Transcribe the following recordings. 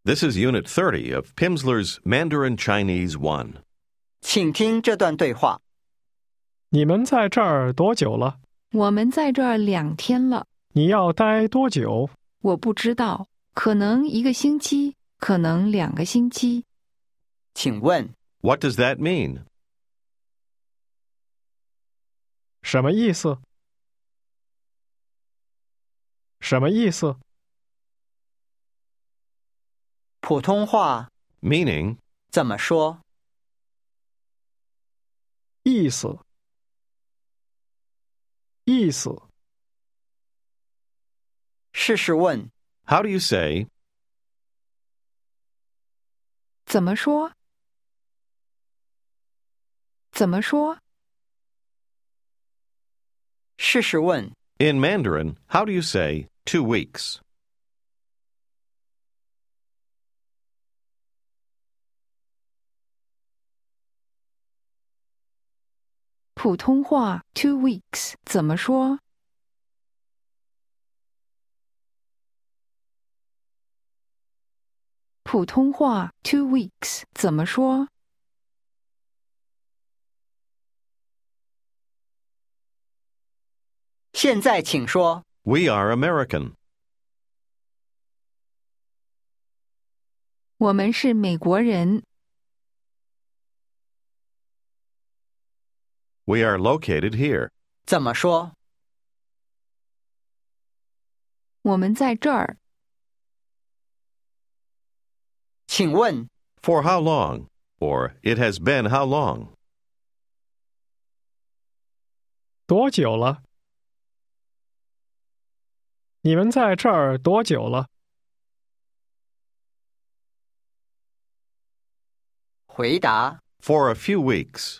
This is Unit 30 of Pimsleur's Mandarin Chinese 1. 请听这段对话。 你们在这儿多久了？ 我们在这儿2天了。 你要待多久？ 我不知道，可能1个星期，可能2个星期。 请问 What does that mean? 什么意思？什么意思？ 普通话 Meaning, 怎么说？ 意思。意思。 试试问 how do you say, 怎么说？怎么说？ 试试问 in Mandarin, how do you say 2 weeks? 普通话 2 weeks 怎么说？普通话 2 weeks 怎么说？ 现在请说 We are American. 我们是美国人。 We are located here. 怎么说？ 我们在这儿。 请问 For how long? Or it has been how long? 多久了？你们在这儿多久了？ 回答 For a few weeks.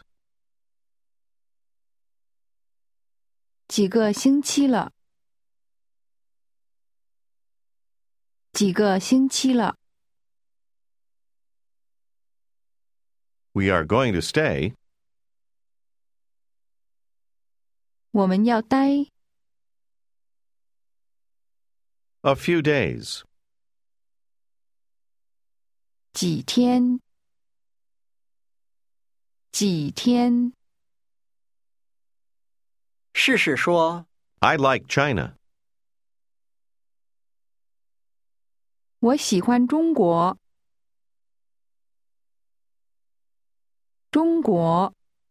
几个星期了。几个星期了。 We are going to stay. 我们要待。 A few days. 几天。几天。 试试说 I like China. 我喜欢中国。中国。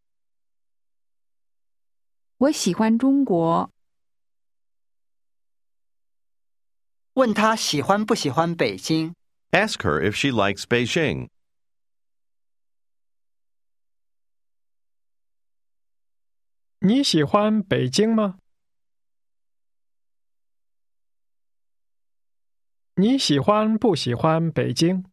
我喜欢中国。 问他喜欢不喜欢北京。 Ask her if she likes Beijing. 你喜欢北京吗？你喜欢不喜欢北京？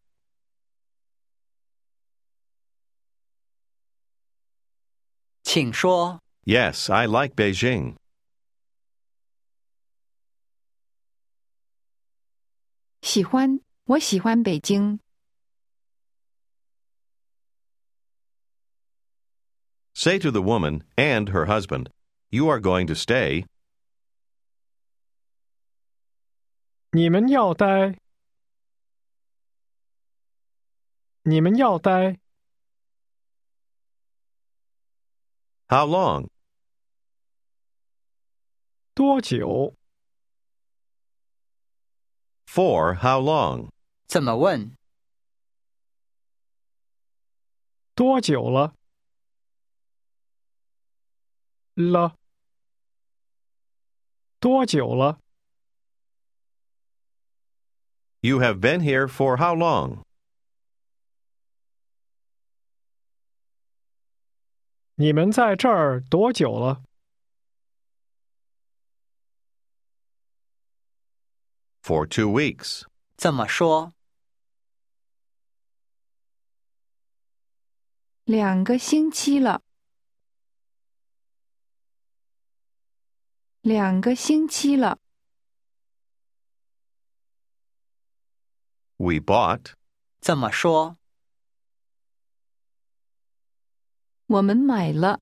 请说 Yes, I like Beijing. 喜欢，我喜欢北京。 Say to the woman and her husband, You are going to stay. 你们要待。你们要待。 How long? 多久？ For how long? 怎么问？ 多久了？了。多久了？ You have been here for how long? 你们在这儿多久了？ For 2 weeks. 怎么说？ 2个星期了。2个星期了。 We bought. 怎么说？ 我们买了。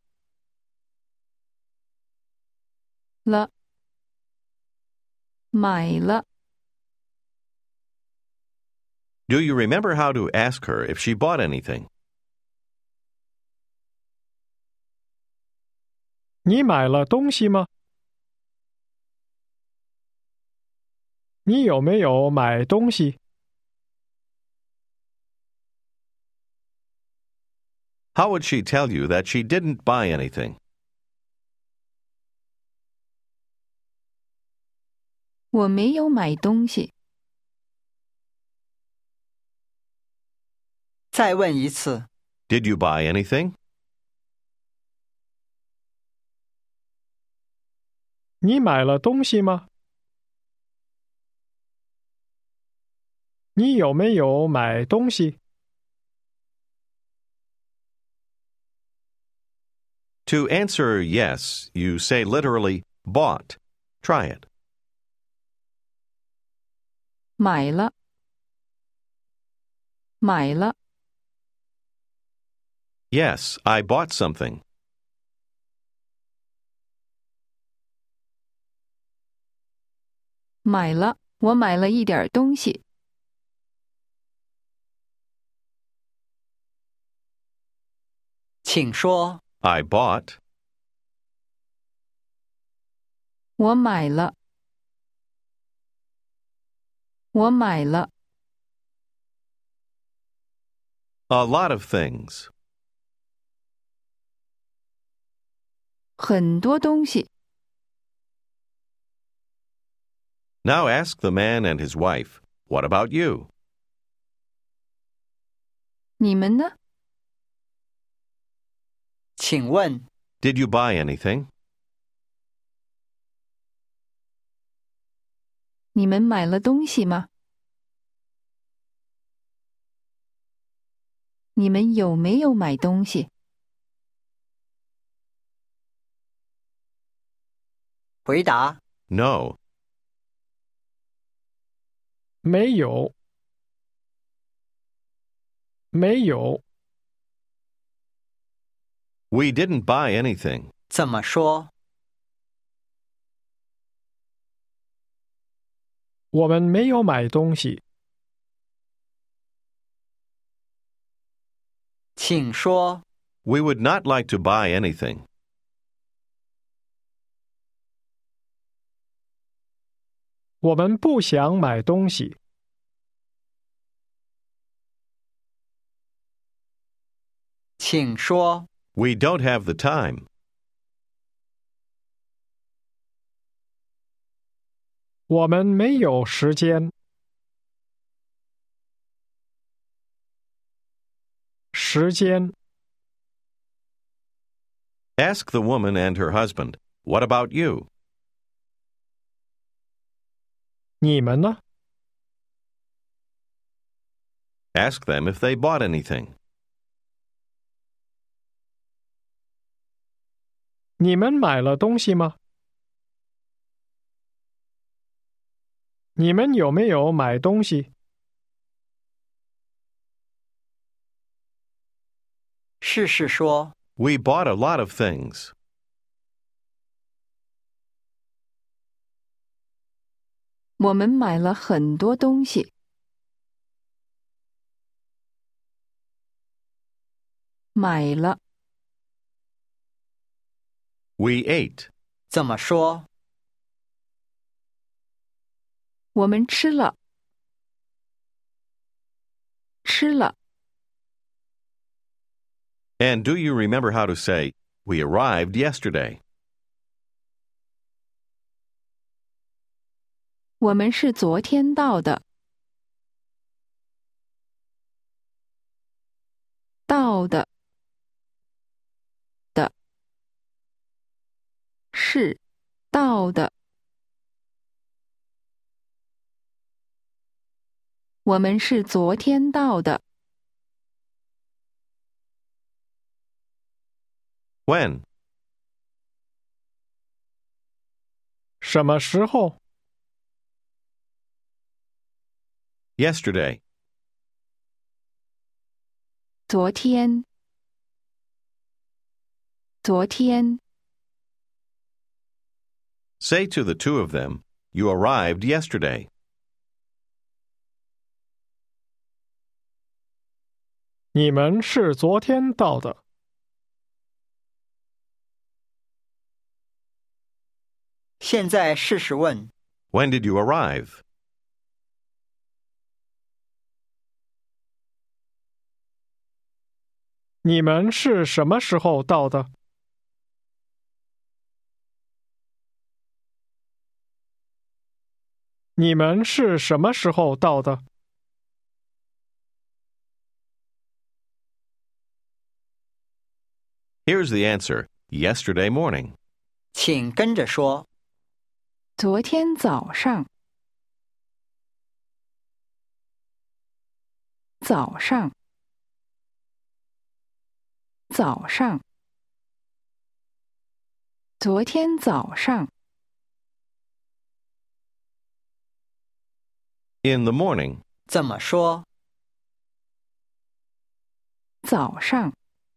了。买了。 Do you remember how to ask her if she bought anything? 你买了东西吗？你有没有买东西？ How would she tell you that she didn't buy anything? 我没有买东西。 再问一次， Did you buy anything? 你买了东西吗？你有没有买东西？ To answer yes, you say literally bought. Try it. 买了，买了， Yes, I bought something. 买了，我买了一点东西。 请说， I bought. 我买了，我买了 A lot of things. 很多东西。 Now ask the man and his wife, what about you? 你们呢？ 请问， Did you buy anything? 你们买了东西吗？你们有没有买东西？ 回答， No. 没有，没有。 We didn't buy anything. 怎么说？ 我们没有买东西。 请说， We would not like to buy anything. 我们不想买东西。 请说， We don't have the time. 我们没有时间。时间， Ask the woman and her husband, what about you? 你们呢？ Ask them if they bought anything. 你们买了东西吗？你们有没有买东西？ 试试说， We bought a lot of things. 我们买了很多东西。买了， We ate. 怎么说？ 我们吃了，吃了。 And do you remember how to say, we arrived yesterday? 我们是昨天到的。到的，的，是到的。我们是昨天到的。 When? 什么时候？ Yesterday. 昨天，昨天。 Say to the two of them, you arrived yesterday. 你们是昨天到的。 现在试试问， When did you arrive? 你们是什么时候到的？你们是什么时候到的？ Here's the answer. Yesterday morning. 请跟着说。 昨天早上。早上。早上。昨天早上。 In the morning. 怎么说？ 早上。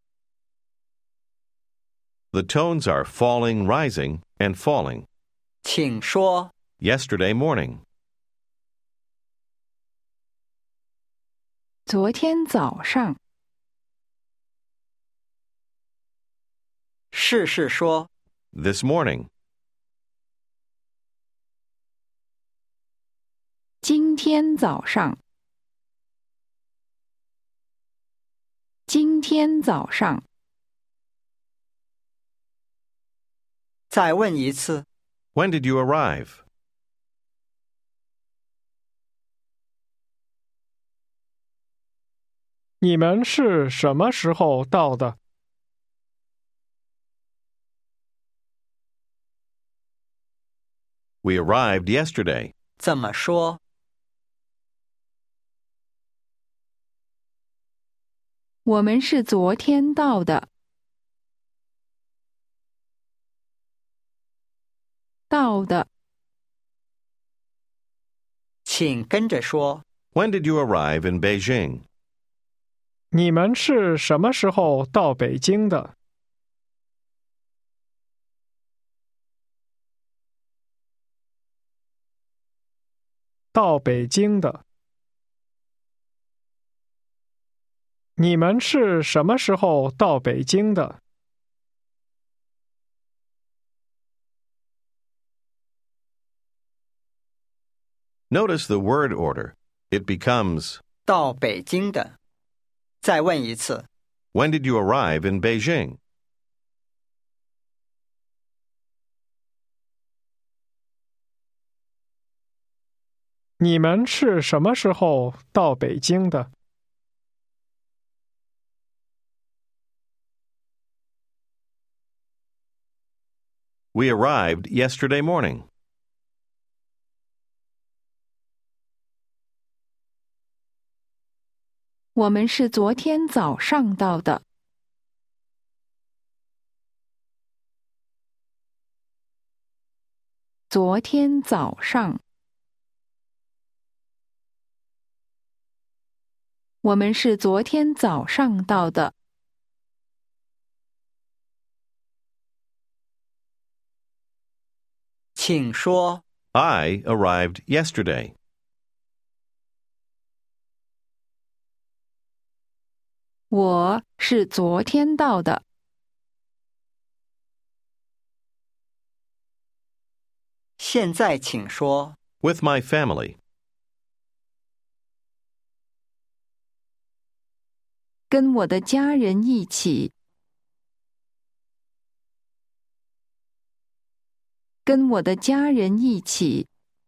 The tones are falling, rising, and falling. 请说。 Yesterday morning. 昨天早上。 试试说。 This morning. 今天早上。今天早上。 再问一次。 When did you arrive? 你们是什么时候到的？ We arrived yesterday. 怎么说？ 我们是昨天到的。到的。 请跟着说。 When did you arrive in Beijing? 你们是什么时候到北京的？到北京的。你们是什么时候到北京的？ Notice the word order. It becomes, 到北京的。再问一次。 When did you arrive in Beijing? 你们是什么时候到北京的？ We arrived yesterday morning. 我们是昨天早上到的。昨天早上。我们是昨天早上到的。 请说。 I arrived yesterday. 我是昨天到的。 现在请说。 With my family. 跟我的家人一起。跟我的家人一起。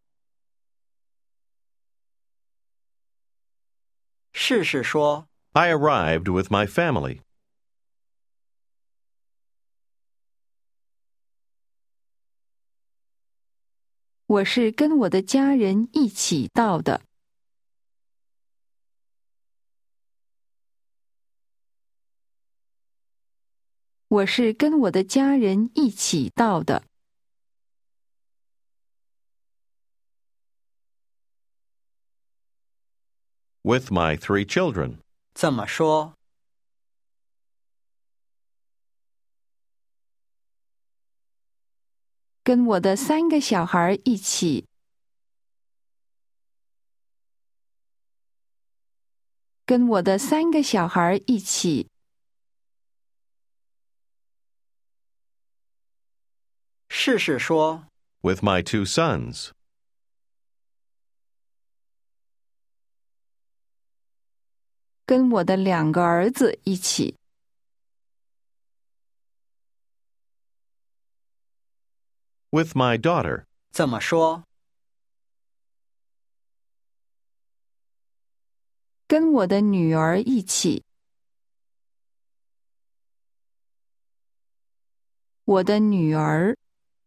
试试说。 I arrived with my family. 我是跟我的家人一起到的。我是跟我的家人一起到的。 With my 3 children. 怎么说？ 跟我的3个小孩一起。 跟我的3个小孩一起。 试试说， With my 2 sons. 跟我的2个儿子一起。 With my daughter. 怎么说？ 跟我的女儿一起。我的女儿。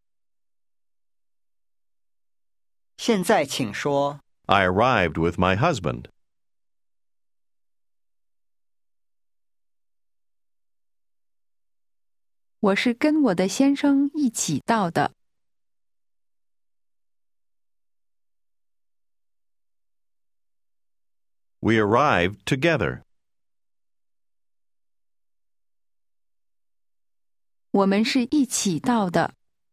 现在请说， I arrived with my husband. 我是跟我的先生一起到的。 We arrived together. 我们是一起到的。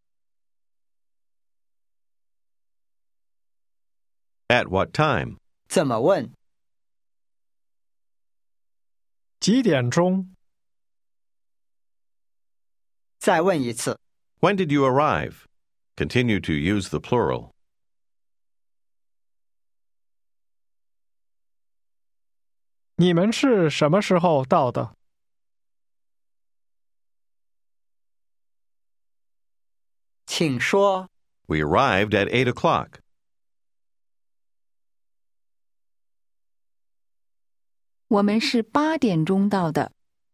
At what time? 怎么问？ 几点钟？ 再问一次。 When did you arrive? Continue to use the plural. 你们是什么时候到的？ 请说， We arrived at 8 o'clock. 我们是8点钟到的。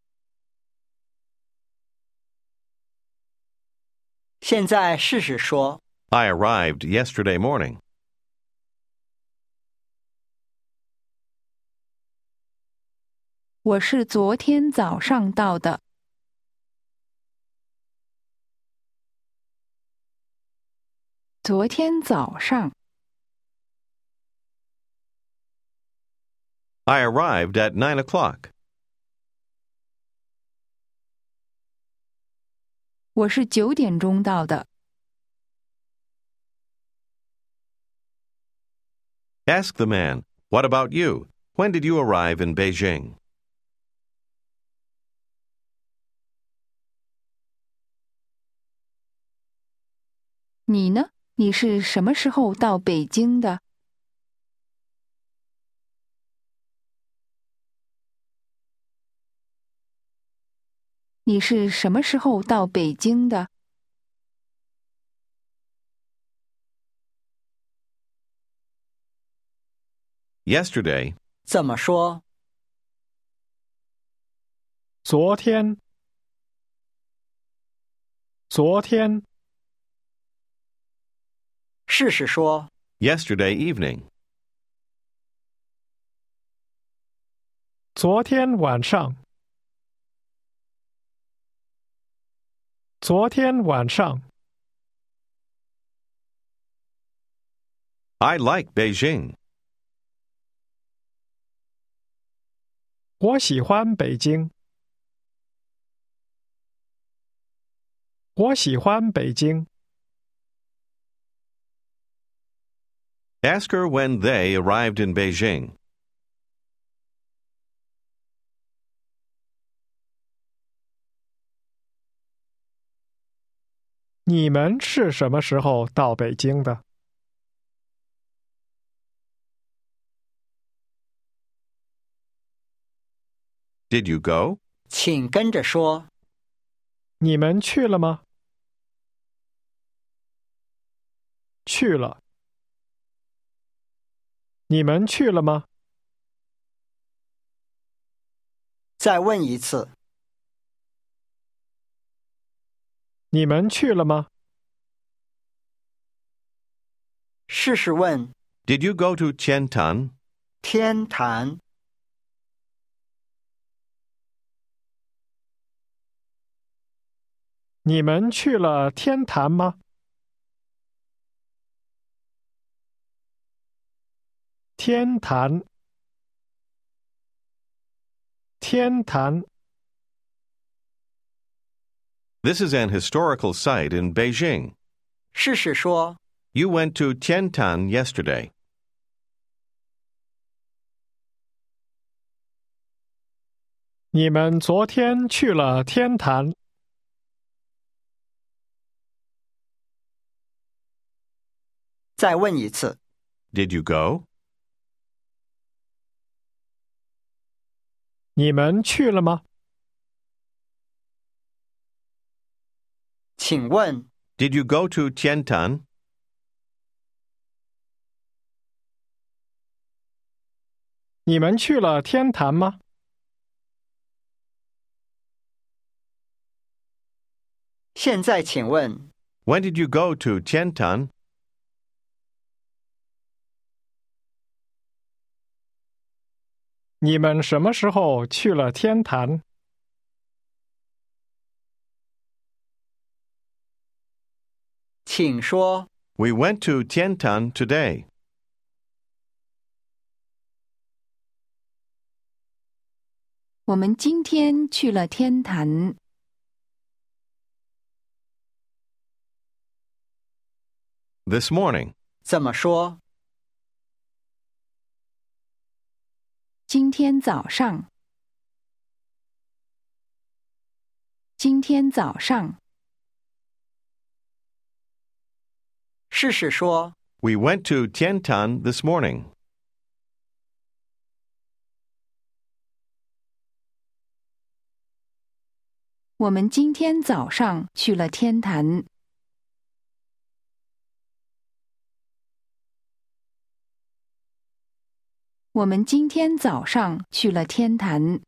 现在试试说， I arrived yesterday morning. 我是昨天早上到的。昨天早上。 I arrived at 9 o'clock. 我是9点钟到的。 Ask the man, what about you? When did you arrive in Beijing? 你呢？你是什么时候到北京的？你是什么时候到北京的？ Yesterday. 怎么说？ 昨天。昨天。 试试说， Yesterday evening. 昨天晚上。昨天晚上。 I like Beijing. 我喜欢北京。我喜欢北京。 Ask her when they arrived in Beijing. 你们是什么时候到北京的？ Did you go? 请跟着说， 你们去了吗？去了。你们去了吗？ 再问一次。 你们去了吗？ 试试问， Did you go to Qiantan? 天坛。 你们去了天坛吗？天坛。天坛。 This is an historical site in Beijing. 试试说， You went to Qiantan yesterday. 你们昨天去了天坛。 再问一次， Did you go? 你们去了吗？ 请问 Did you go to Tiantan? 你们去了天坛吗？ 现在请问 When did you go to Tiantan? 你们什么时候去了天坛？ 请说 We went to Tiantan today. 我们今天去了天坛。 This morning. 怎么说？ 今天早上。今天早上。 试试说 We went to Tiantan this morning. 我们今天早上去了天坛。我们今天早上去了天坛。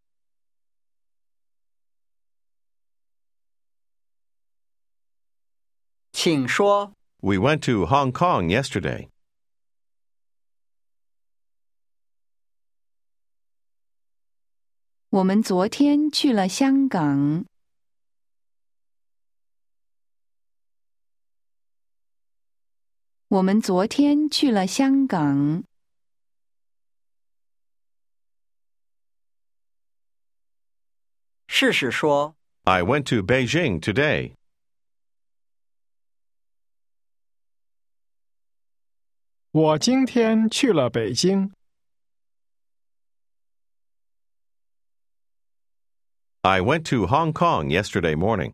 请说 We went to Hong Kong yesterday. 我们昨天去了香港。我们昨天去了香港。 试试说 I went to Beijing today. 我今天去了北京。 I went to Hong Kong yesterday morning.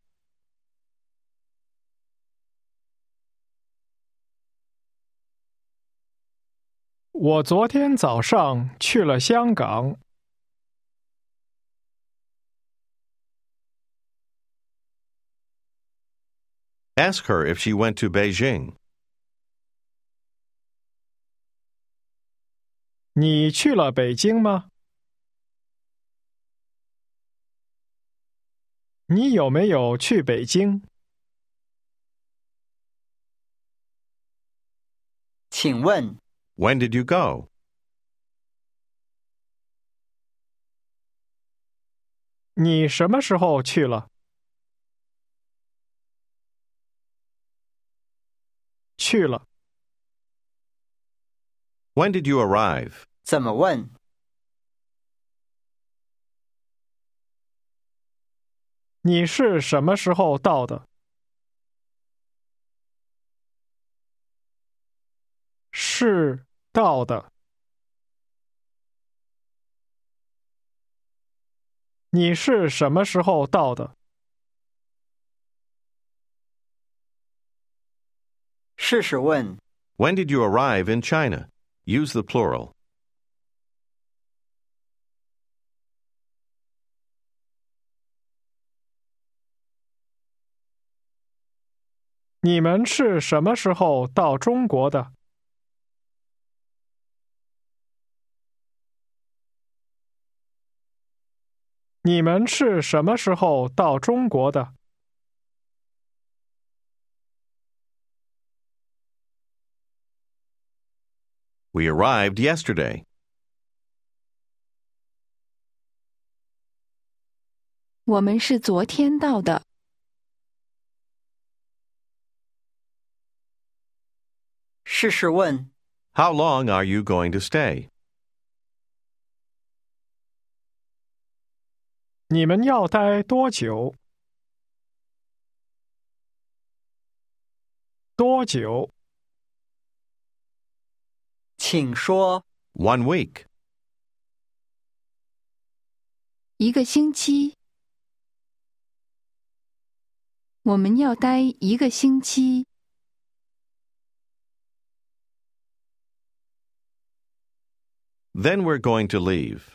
我昨天早上去了香港。 Ask her if she went to Beijing. 你去了北京吗？你有没有去北京？ 请问 When did you go? 你什么时候去了？去了。 When did you arrive? 怎么问？ 你是什么时候到的？是到的。你是什么时候到的？ 试试问 When did you arrive in China? Use the plural. 你们是什么时候到中国的？你们是什么时候到中国的？ We arrived yesterday. 我们是昨天到的。 试试问 How long are you going to stay? 你们要待多久？多久？ 请说 1 week. 1个星期。我们要待1个星期。 Then we're going to leave.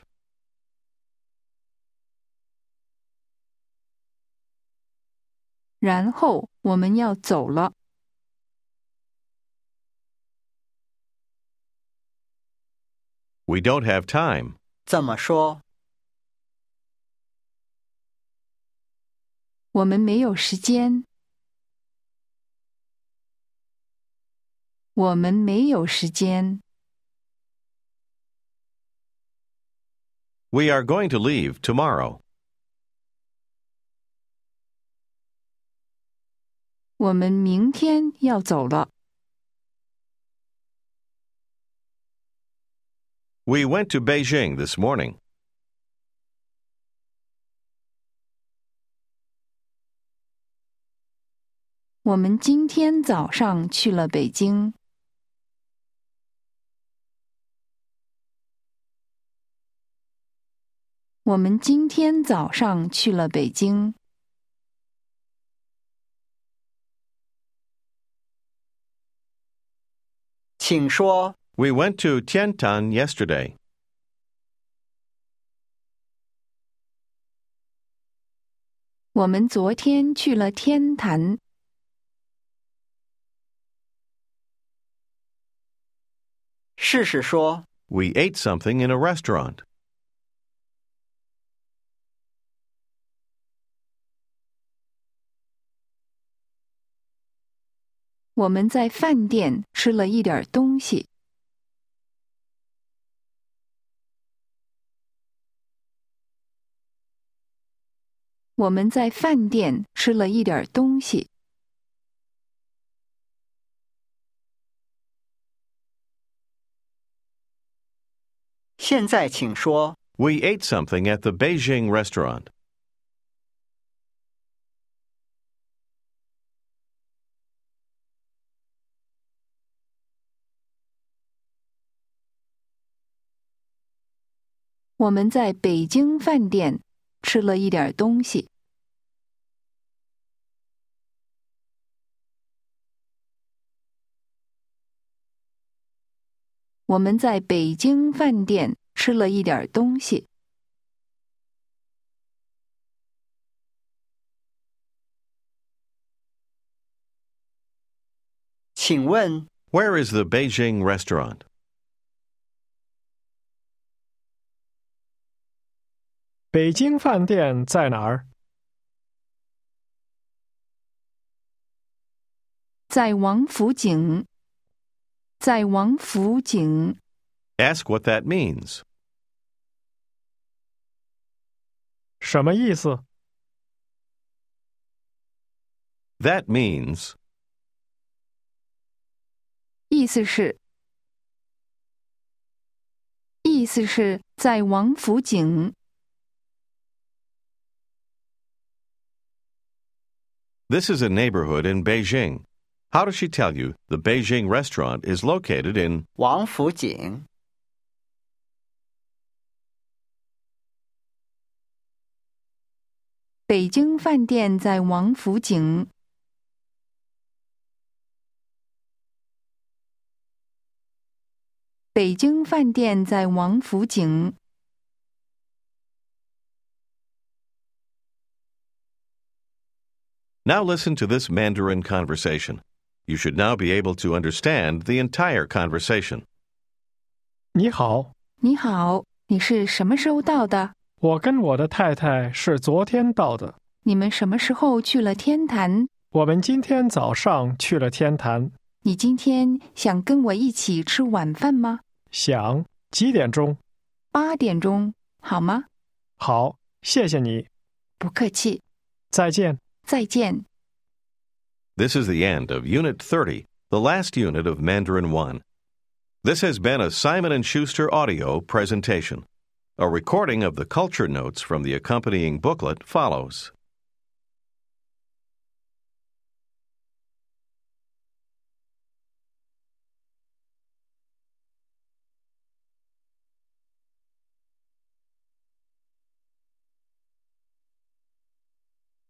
然后我们要走了。 We don't have time. 怎么说？ 我们没有时间。我们没有时间。 We are going to leave tomorrow. 我们明天要走了。 We went to Beijing this morning. 我们今天早上去了北京。我们今天早上去了北京。 请说。 We went to Tiantan yesterday. 我们昨天去了天坛。 试试说。 We ate something in a restaurant. 我们在饭店吃了一点东西。我们在饭店吃了一点东西。 现在请说。 We ate something at the Beijing restaurant. 我们在北京饭店吃了一点东西。我们在北京饭店吃了一点东西。 请问 Where is the Beijing restaurant? 北京饭店在哪儿？ 在王府井。在王府井。 Ask what that means. 什么意思？ That means 意思是在王府井。 this is a neighborhood in Beijing. How does she tell you the Beijing restaurant is located in 王府井。 北京饭店在王府井。北京饭店在王府井。 Now listen to this Mandarin conversation. You should now be able to understand the entire conversation. 你好， 你好，你是什么时候到的？ 我跟我的太太是昨天到的。 你们什么时候去了天坛？ 我们今天早上去了天坛。 你今天想跟我一起吃晚饭吗？ 想，几点钟 ？8点钟，好吗？ 好，谢谢你。 不客气。 再见。 再见。 This is the end of Unit 30, the last unit of Mandarin 1. This has been a Simon & Schuster audio presentation. A recording of the culture notes from the accompanying booklet follows.